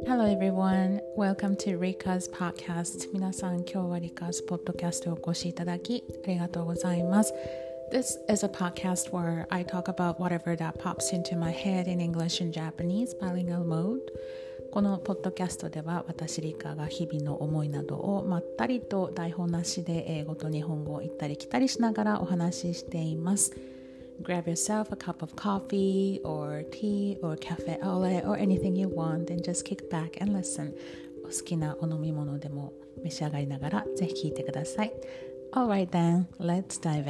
Hello everyone, welcome to Rika's podcast. 皆さん、今日は Rika's podcast をお越しいただきありがとうございます。This is a podcast where I talk about whatever that pops into my head in English and Japanese bilingual mode. このポッドキャストでは私リカが日々の思いなどをまったりと台本なしで英語と日本語を行ったり来たりしながらお話ししています。Grab yourself a cup of coffee or tea or cafe au lait or anything you want and just kick back and listen. お好きなお飲み物でも召し上がりながらぜひ聞いてください。Alright then, let's dive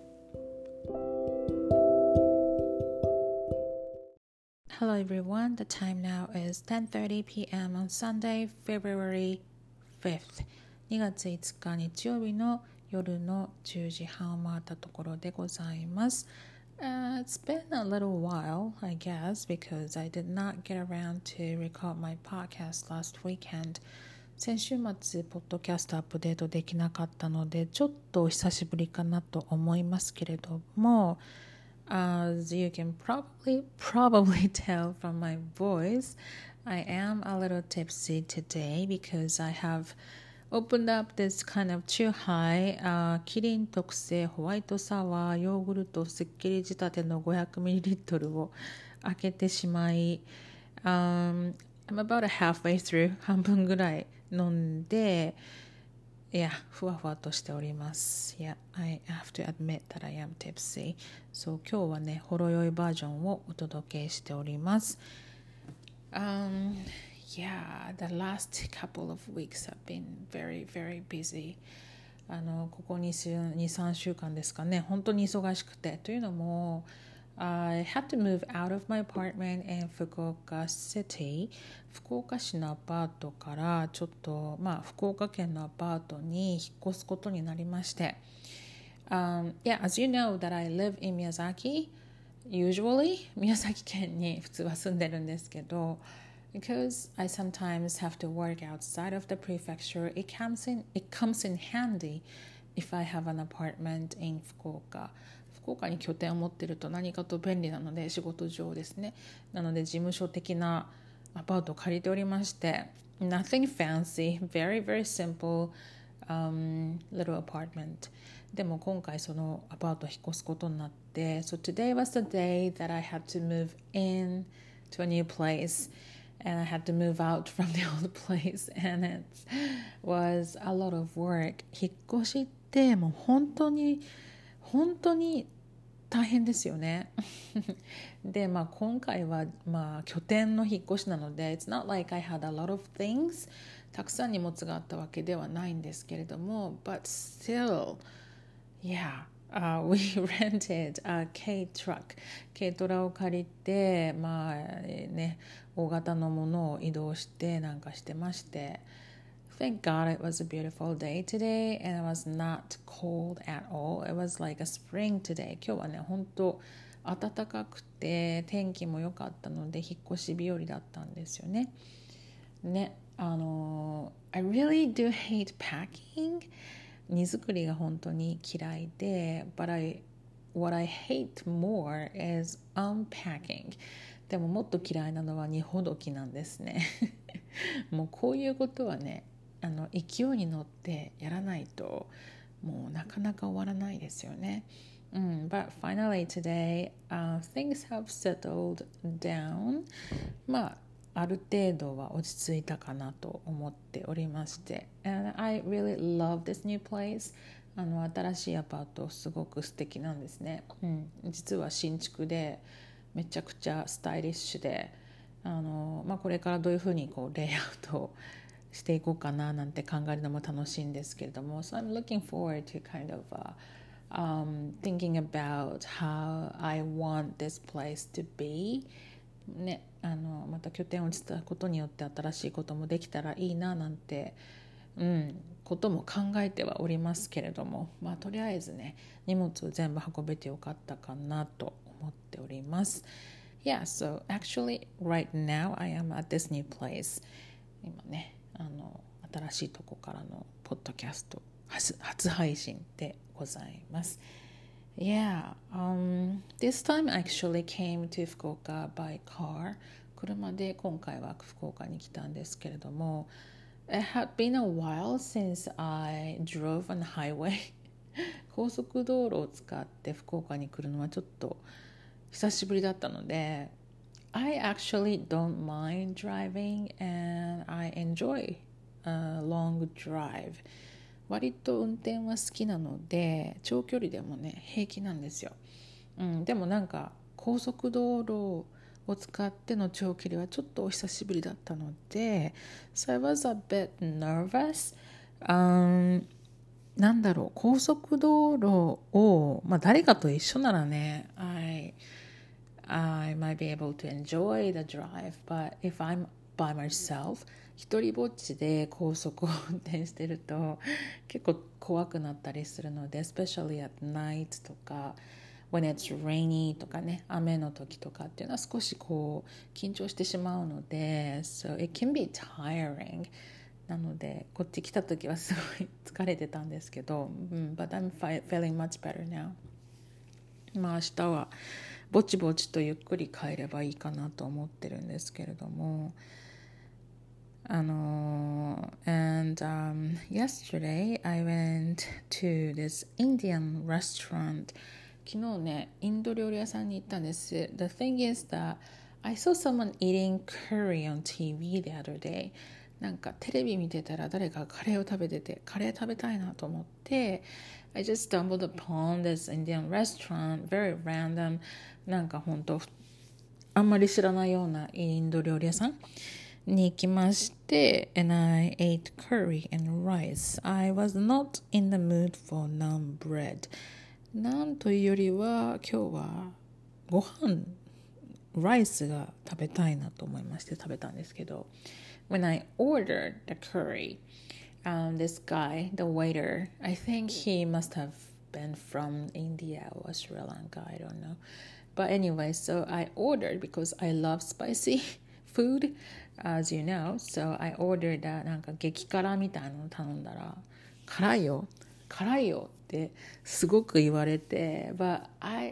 in.Hello everyone, the time now is 10:30 p.m. on Sunday, February 5th. 2月5日日曜日の夜の10時半を回ったところでございます。It's been a little while, I guess, because I did not get around to record my podcast last weekend. 先週末、ポッドキャストアップデートできなかったので、ちょっとお久しぶりかなと思いますけれども、As you can probably tell from my voice, I am a little tipsy today because I have opened up this kind of Chuhai, キリン特製ホワイトサワーヨーグルトすっきり仕立ての 500ml を開けてしまい、I'm about halfway through 半分ぐらい飲んでふわふわとしております。I have to admit that I am tipsy. そう、今日はね、ほろ酔いバージョンをお届けしております。The last couple of weeks have been very, very busy. ここ2、3週間ですかね、本当に忙しくて。というのも、I had to move out of my apartment in Fukuoka City. 福岡市のアパートからちょっと、福岡県のアパートに引っ越すことになりまして。as you know that I live in Miyazaki, usually 宮崎県に普通は住んでるんですけど、because I sometimes have to work outside of the prefecture, it comes in handy if I have an apartment in Fukuoka.福岡に拠点を持っていると何かと便利なので仕事上ですね。なので事務所的なアパートを借りておりまして Nothing fancy, very very simple、little apartment でも今回そのアパートを引っ越すことになって So today was the day that I had to move in to a new place and I had to move out from the old place and it was a lot of work 引っ越しってもう本当に大変ですよねで、今回は、拠点の引っ越しなので It's not like I had a lot of things たくさん荷物があったわけではないんですけれども But still we rented a K truck 軽トラを借りて大型のものを移動してなんかしてましてThank God it was a beautiful day today and it was not cold at all. It was like a spring today. 今日はね、本当暖かくて天気も良かったので引っ越し日和だったんですよね。I really do hate packing. 荷造りが本当に嫌いで、but what I hate more is unpacking. でももっと嫌いなのは荷ほどきなんですね。もうこういうことはね、勢いに乗ってやらないともうなかなか終わらないですよね。But finally today, things have settled down. ある程度は落ち着いたかなと思っておりまして。And I really love this new place. 新しいアパートすごく素敵なんですね。実は新築でめちゃくちゃスタイリッシュで、これからどういうふうにレイアウトをしていこうかななんて考えるのも楽しいんですけれども So I'm looking forward to kind of thinking about how I want this place to be ね、また拠点を移したことによって新しいこともできたらいいななんて、ことも考えてはおりますけれどもとりあえずね荷物を全部運べてよかったかなと思っております。so actually right now I am at this new place 今ね新しいとこからのポッドキャスト初配信でございます。This time I actually came to Fukuoka by car 車で今回は福岡に来たんですけれども、It had been a while since I drove on the highway 高速道路を使って福岡に来るのはちょっと久しぶりだったので、I actually don't mind driving and I enjoy a long drive. 割と運転は好きなので長距離でもね平気なんですよ、でもなんか高速道路を使っての長距離はちょっとお久しぶりだったので So I was a bit nervous、なんだろう、高速道路を、誰かと一緒ならねI might be able to enjoy the drive, but if I'm by myself 一人ぼっちで高速を運転してると結構怖くなったりするので especially at night とか when it's rainy とかね、雨の時とかっていうのは少しこう緊張してしまうので so it can be tiring なのでこっち来た時はすごい疲れてたんですけど、but I'm feeling much better now。 明日はぼちぼちとゆっくり帰ればいいかなと思ってるんですけれども、yesterday I went to this Indian restaurant。 昨日ねインド料理屋さんに行ったんです。 The thing is that I saw someone eating curry on TV the other day。 なんかテレビ見てたら誰かカレーを食べてて、カレー食べたいなと思って、I just stumbled upon this Indian restaurant, very random。 なんか本当あんまり知らないようなインド料理屋さんに行きまして、and I ate curry and rice. I was not in the mood for naan bread。 なんというよりは今日はご飯ライスが食べたいなと思いまして食べたんですけど、 When I ordered the curry、this guy, the waiter, I think he must have been from India or Sri Lanka, I don't know. But anyway, so I ordered because I love spicy food, as you know. So I ordered that なんか激辛みたいなの頼んだら、辛いよってすごく言われて、But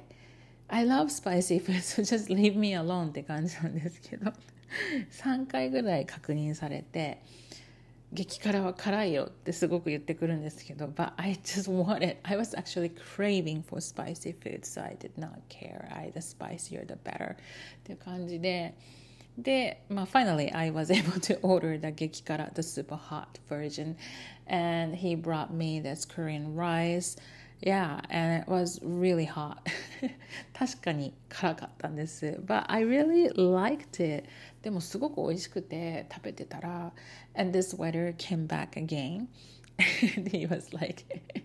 I love spicy food, so just leave me alone って感じなんですけど、3回ぐらい確認されて、激辛は辛いよってすごく言ってくるんですけど、But I just wanted, I was actually craving for spicy food, so I did not care. The spicier the better っていう感じで、finally I was able to order the 激辛, the super hot version, and he brought me this Korean rice.Yeah, and it was really hot. 確かに辛かったんです。But I really liked it. でもすごく美味しくて食べてたら and this waiter came back again. And he was like,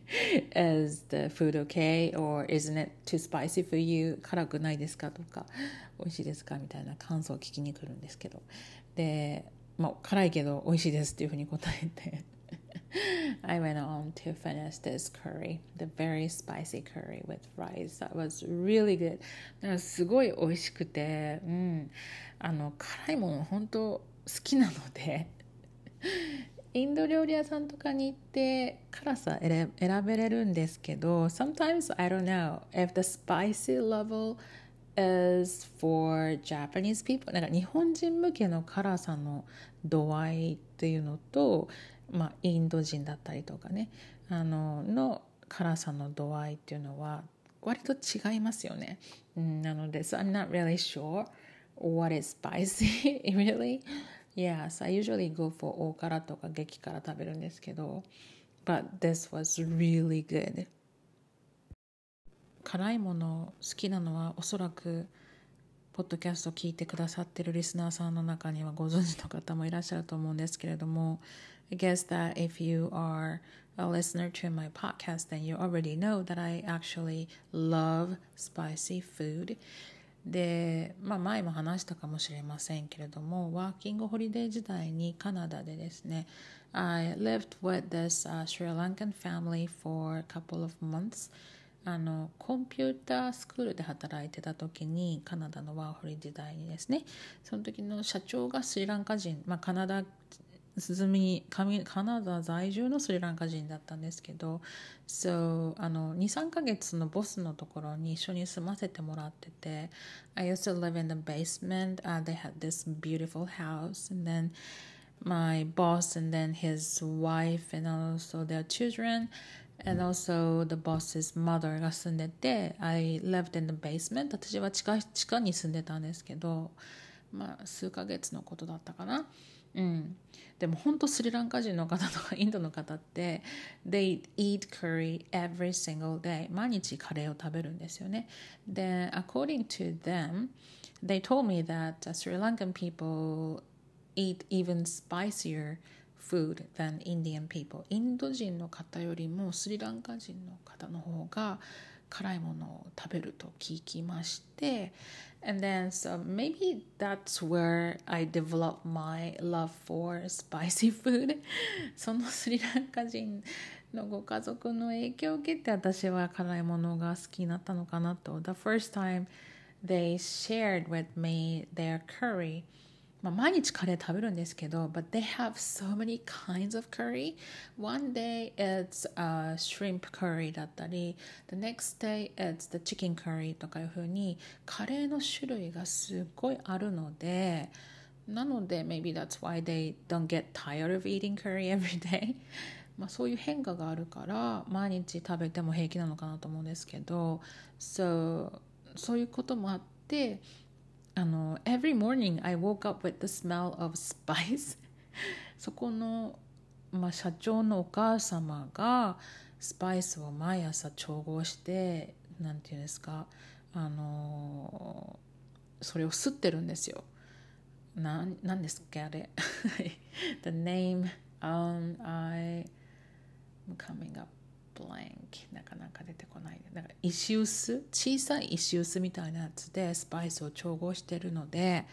is the food okay? Or isn't it too spicy for you? 辛くないですかとか、美味しいですかみたいな感想を聞きに来るんですけど。で、辛いけど美味しいですっていうふうに答えて。I went on to finish this curry, the very spicy curry with rice. That was really good. だからすごい美味しくて、辛いもの本当好きなので、インド料理屋さんとかに行って辛さ選べれるんですけど、sometimes I don't know if the spicy level is for Japanese people。 なんか日本人向けの辛さの度合いっていうのと、インド人だったりとかね、の辛さの度合いっていうのは割と違いますよね。なので、so I'm not really sure what is spicy really. Yeah, so I usually go for 大辛とか激辛食べるんですけど、but this was really good。辛いもの好きなのはおそらくポッドキャストを聞いてくださってるリスナーさんの中にはご存知の方もいらっしゃると思うんですけれども、I guess that if you are a listener to my podcast, then you already know that I actually love spicy food。 で、前も話したかもしれませんけれども、ワーキングホリデー時代にカナダでですね、I lived with this Sri Lankan family for a couple of months。コンピュータースクールで働いてた時に、カナダのワーホリ時代にですね、その時の社長がスリランカ人、カナダカナダ在住のスリランカ人だったんですけど、2、3ヶ月のボスのところに一緒に住ませてもらってて、I used to live in the basement. They had this beautiful house, and then my boss and then his wife and also their children and also the boss's mother が住んでて、I lived in the basement. 私は地下に住んでたんですけど、数ヶ月のことだったかな。でも本当スリランカ人の方とかインドの方って they eat curry every single day 毎日カレーを食べるんですよね。で according to them they told me that Sri Lankan people eat even spicier food than Indian people インド人の方よりもスリランカ人の方の方が辛いものを食べると聞きまして、and then so maybe that's where I developed my love for spicy food そのスリランカ人のご家族の影響を受けて私は辛いものが好きになったのかなと。 The first time they shared with me their curry毎日カレー食べるんですけど but they have so many kinds of curry. One day it's shrimp curry だったり the next day it's the chicken curry とかいう風にカレーの種類がすっごいあるので、なので maybe that's why they don't get tired of eating curry every day そういう変化があるから毎日食べても平気なのかなと思うんですけど、そういうこともあってevery morning I woke up with the smell of spice そこの、社長のお母様がスパイスを毎朝調合してなんていうんですかそれを吸ってるんですよ。なんですっけあれThe name I'm coming up blank なかなか出てこない。なんか石臼、小さい石臼みたいなやつでスパイスを調合してるので、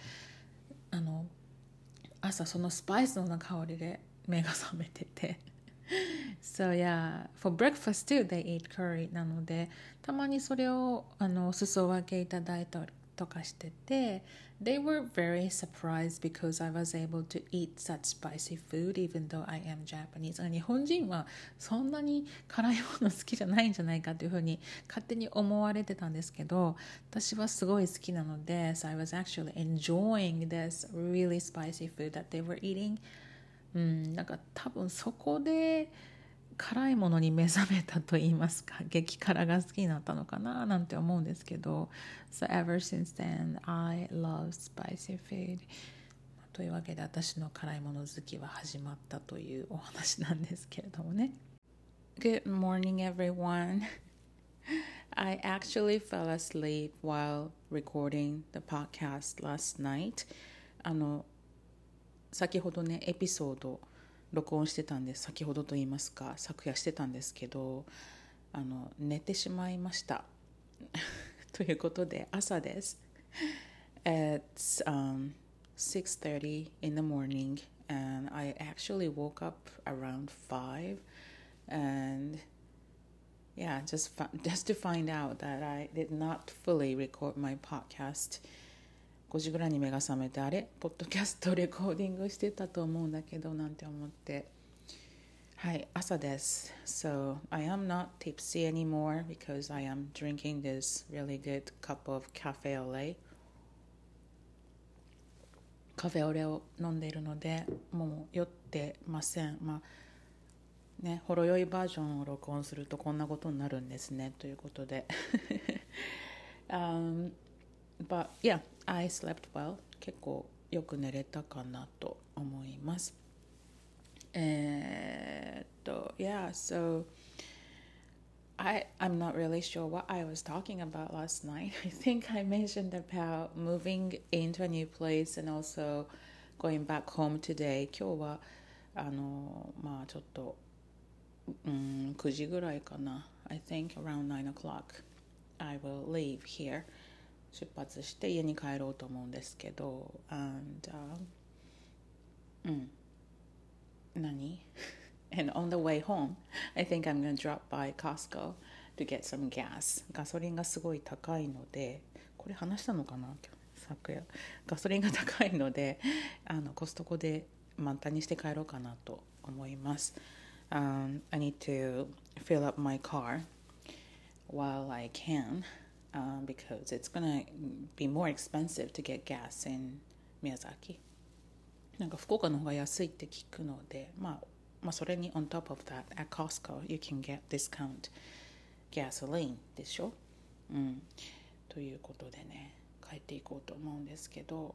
朝そのスパイスの香りで目が覚めててSo yeah, for breakfast too they eat curry なのでたまにそれをお裾分けいただいたりとかしてて They were very surprised because I was able to eat such spicy food even though I am Japanese 日本人はそんなに辛いもの好きじゃないんじゃないかというふうに勝手に思われてたんですけど、私はすごい好きなので So I was actually enjoying this really spicy food that they were eating。なんか多分そこで辛いものに目覚めたと言いますか、激辛が好きになったのかななんて思うんですけど、So ever since then I love spicy food というわけで私の辛いもの好きは始まったというお話なんですけれどもね。Good morning everyone. I actually fell asleep while recording the podcast last night. 先ほどねエピソード録音してたんです。先ほどと言いますか昨夜してたんですけど寝てしまいましたということで朝です。It's 6:30 in the morning and I actually woke up around 5 and yeah just to find out that I did not fully record my podcast。5時ぐらいに目が覚めて、あれポッドキャストレコーディングしてたと思うんだけどなんて思って、はい、朝です。So I am not tipsy anymore because I am drinking this really good cup of cafe au lait。カフェオレを飲んでいるのでもう酔ってません。ほろ酔いバージョンを録音するとこんなことになるんですねということでBut yeah, I slept well. 結構よく寝れたかなと思います。Yeah, so I'm not really sure what I was talking about last night. I think I mentioned about moving into a new place and also going back home today. 今日はちょっと9時ぐらいかな。I think around 9 o'clock I will leave here。出発して家に帰ろうと思うんですけど 何And on the way home I think I'm gonna drop by Costco to get some gas。 ガソリンがすごい高いので、これ話したのかな昨夜、ガソリンが高いのでコストコで満タンにして帰ろうかなと思います。I need to fill up my car while I can, because it's gonna be more expensive to get gas in 宮崎。なんか福岡の方が安いって聞くので、まあそれに on top of that at Costco you can get discount gasoline でしょ。ということでね、帰っていこうと思うんですけど、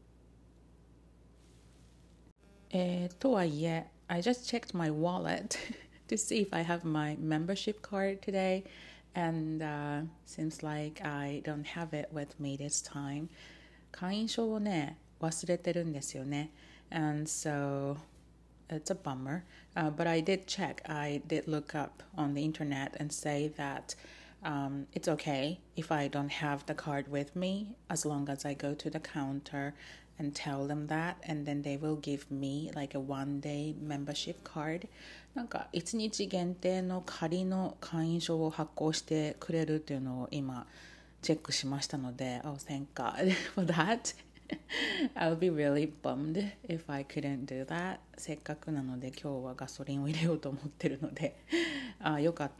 とはいえ、I just checked my wallet to see if I have my membership card today, and seems like I don't have it with me this time. 会員証をね、忘れてるんですよね。And so it's a bummer. But I did check. I did look up on the internet and say that it's okay if I don't have the card with me as long as I go to the counter and tell them that, and then they will give me like a one-day membership card. なんか1日限定の仮の会員証を発行してくれるっていうのを今チェックしましたので、oh thank God for that. I would be really bummed if I couldn't do that. せっかくなので今日はガソリンを入れようと思ってるのでよかった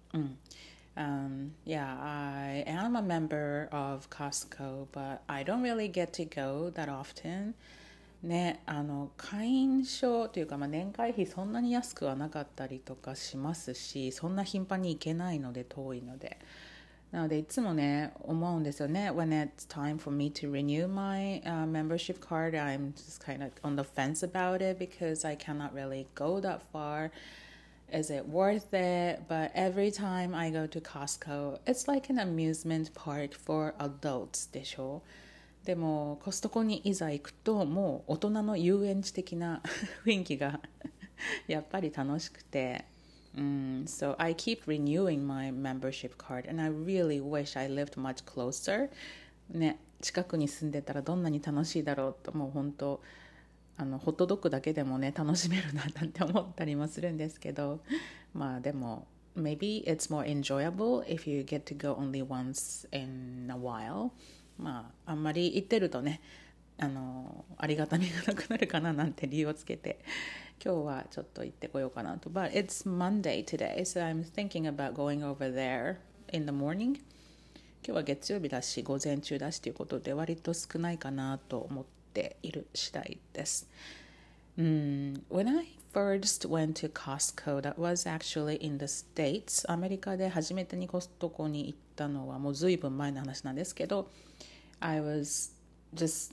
。Yeah, I am a member of Costco, but I don't really get to go that often. ね、会員証というか、年会費そんなに安くはなかったりとかしますし、そんな頻繁に行けないので遠いので。なのでいつもね思うんですよね。When it's time for me to renew my membership card, I'm just kind of on the fence about it because I cannot really go that far. Is it worth it? But every time I go to Costco, it's like an amusement park for adults でしょ。でもコストコにいざ行くともう大人の遊園地的な雰囲気がやっぱり楽しくて。So I keep renewing my membership card, and I really wish I lived much closer. ね、近くに住んでたらどんなに楽しいだろうと、もう本当ホットドッグだけでもね楽しめるななんて思ったりもするんですけど、まあでも maybe it's more enjoyable if you get to go only once in a while. まああんまり行ってるとねありがたみがなくなるかななんて理由をつけて今日はちょっと行ってこようかなと。But it's Monday today, so I'm thinking about going over there in the morning. 今日は月曜日だし午前中だしということで割と少ないかなと思っている次第です。When I first went to Costco, that was actually in the States. アメリカで初めてにコストコに行ったのはもうずいぶん前の話なんですけど、I was just,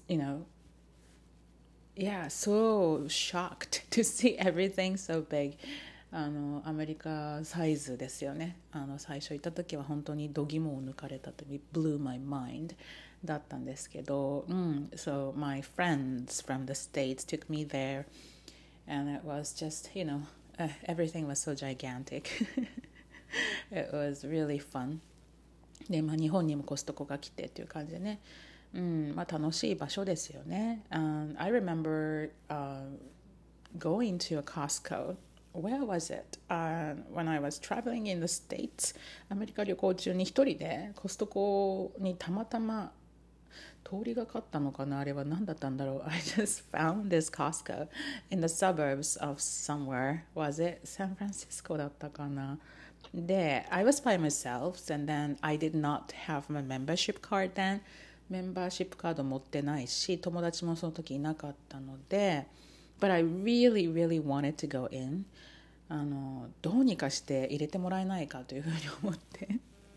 yeah, so shocked to see everything so big. アメリカサイズですよね。最初行った時は本当に度肝を抜かれたという blew my mind だったんですけど、So my friends from the States took me there, and it was just, everything was so gigantic. It was really fun. で、日本にもコストコが来てっていう感じでね。楽しい場所ですよね。I remember going to a Costco. Where was it? When I was traveling in the States. アメリカ旅行中に一人でコストコにたまたま通りがかったのかな。あれは何だったんだろう。I just found this Costco in the suburbs of somewhere. Was it San Francisco だったかな。で、I was by myself, and then I did not have my membership card then. メンバーシップカード持ってないし友達もその時いなかったので But I really really wanted to go in どうにかして入れてもらえないかというふうに思って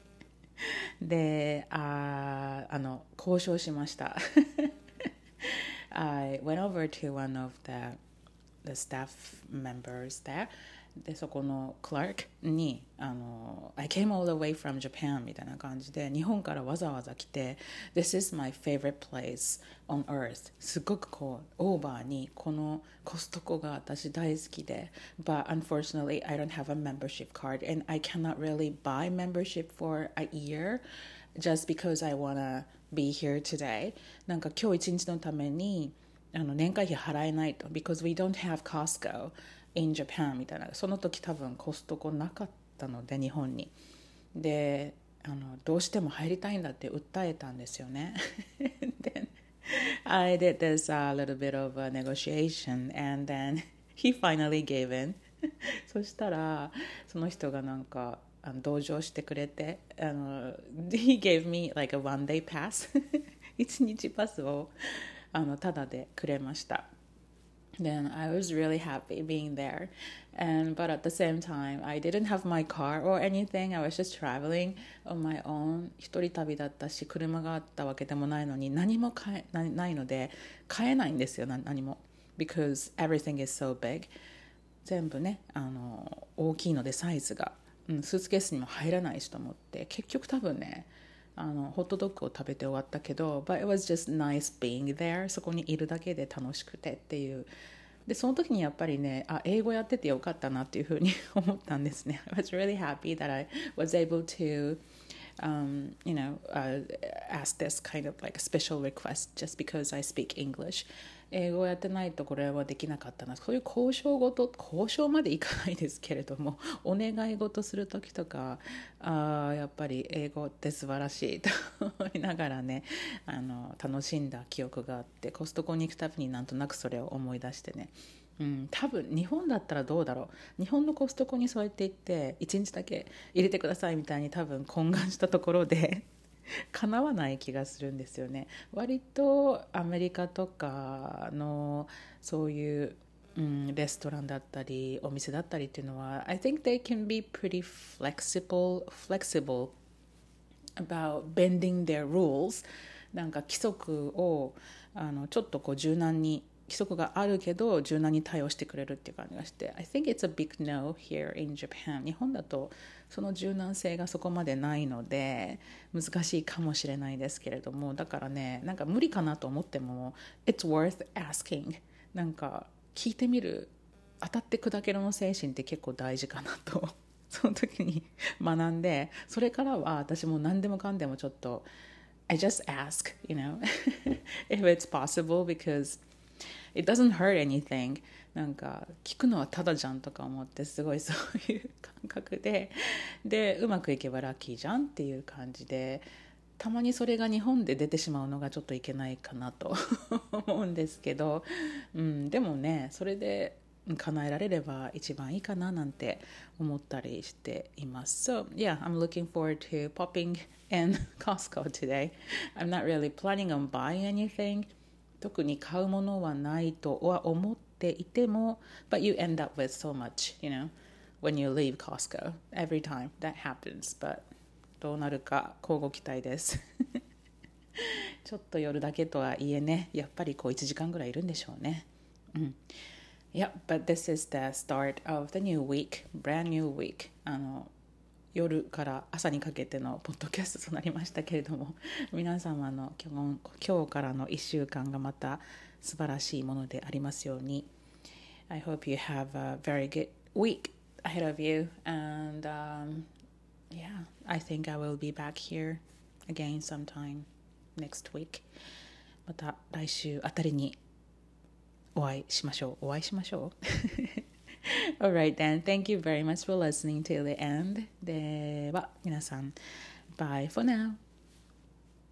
で交渉しましたI went over to one of the staff members there でそこのクラークにI came all the way from Japan みたいな感じで日本からわざわざ来て This is my favorite place on earth すごくこうオーバーにこのコストコが私大好きで But unfortunately I don't have a membership card and I cannot really buy membership for a year just because I wanna be here today なんか今日一日のために年会費払えないと Because we don't have Costco in Japan みたいなその時多分コストコなかったので日本にでどうしても入りたいんだって訴えたんですよねで I did this little bit of a negotiation and then he finally gave in そしたらその人がなんか同情してくれてhe gave me like a one day pass 一日パスをタダでくれました。Then I was really happy being there. But at the same time, I didn't have my car or anything. I was just traveling on my own. 一人旅だったし、車があったわけでもないのに、何もないので、買えないんですよ、何も。Because everything is so big. 全部ね、大きいのでサイズが、スーツケースにも入らないしと思って、結局多分ね、ホットドッグを食べて終わったけど But it was just nice being there そこにいるだけで楽しくてっていうでその時にやっぱりね英語やっててよかったなっていうふうに思ったんですね I was really happy that I was able to ask this kind of like a special request just because I speak English 英語をやってないとこれはできなかったなそういう交渉までいかないですけれどもお願い事する時とかやっぱり英語って素晴らしいと思いながらね楽しんだ記憶があってコストコに行くたびになんとなくそれを思い出してね多分日本だったらどうだろう日本のコストコにそうやって行って1日だけ入れてくださいみたいに多分懇願したところで叶わない気がするんですよね割とアメリカとかのそういう、レストランだったりお店だったりっていうのは I think they can be pretty flexible about bending their rules なんか規則をちょっとこう柔軟に規則があるけど柔軟に対応してくれるっていう感じがして I think it's a big no here in Japan 日本だとその柔軟性がそこまでないので難しいかもしれないですけれどもだからねなんか無理かなと思っても It's worth asking なんか聞いてみる当たって砕けろの精神って結構大事かなとその時に学んでそれからは私も何でもかんでもちょっと I just ask if it's possible because it doesn't hurt anything なんか聞くのはただじゃんとか思ってすごいそういう感覚でうまくいけばラッキーじゃんっていう感じでたまにそれが日本で出てしまうのがちょっといけないかなと思うんですけど、でもねそれで叶えられれば一番いいかななんて思ったりしています。So yeah, I'm looking forward to popping in Costco today. I'm not really planning on buying anything. 特に買うものはないとは思っていても But you end up with so much, when you leave Costco. Every time that happens. But どうなるか交互期待ですちょっと夜だけとはいえねやっぱりこう1時間ぐらいいるんでしょうねYeah, but this is the start of the new week, brand new week. 夜から朝にかけてのポッドキャストとなりましたけれども皆様の今日からの1週間がまた素晴らしいものでありますように I hope you have a very good week ahead of you and yeah, I think I will be back here again sometime next week また来週あたりにお会いしましょう Alright then, thank you very much for listening till the end では皆さん Bye for now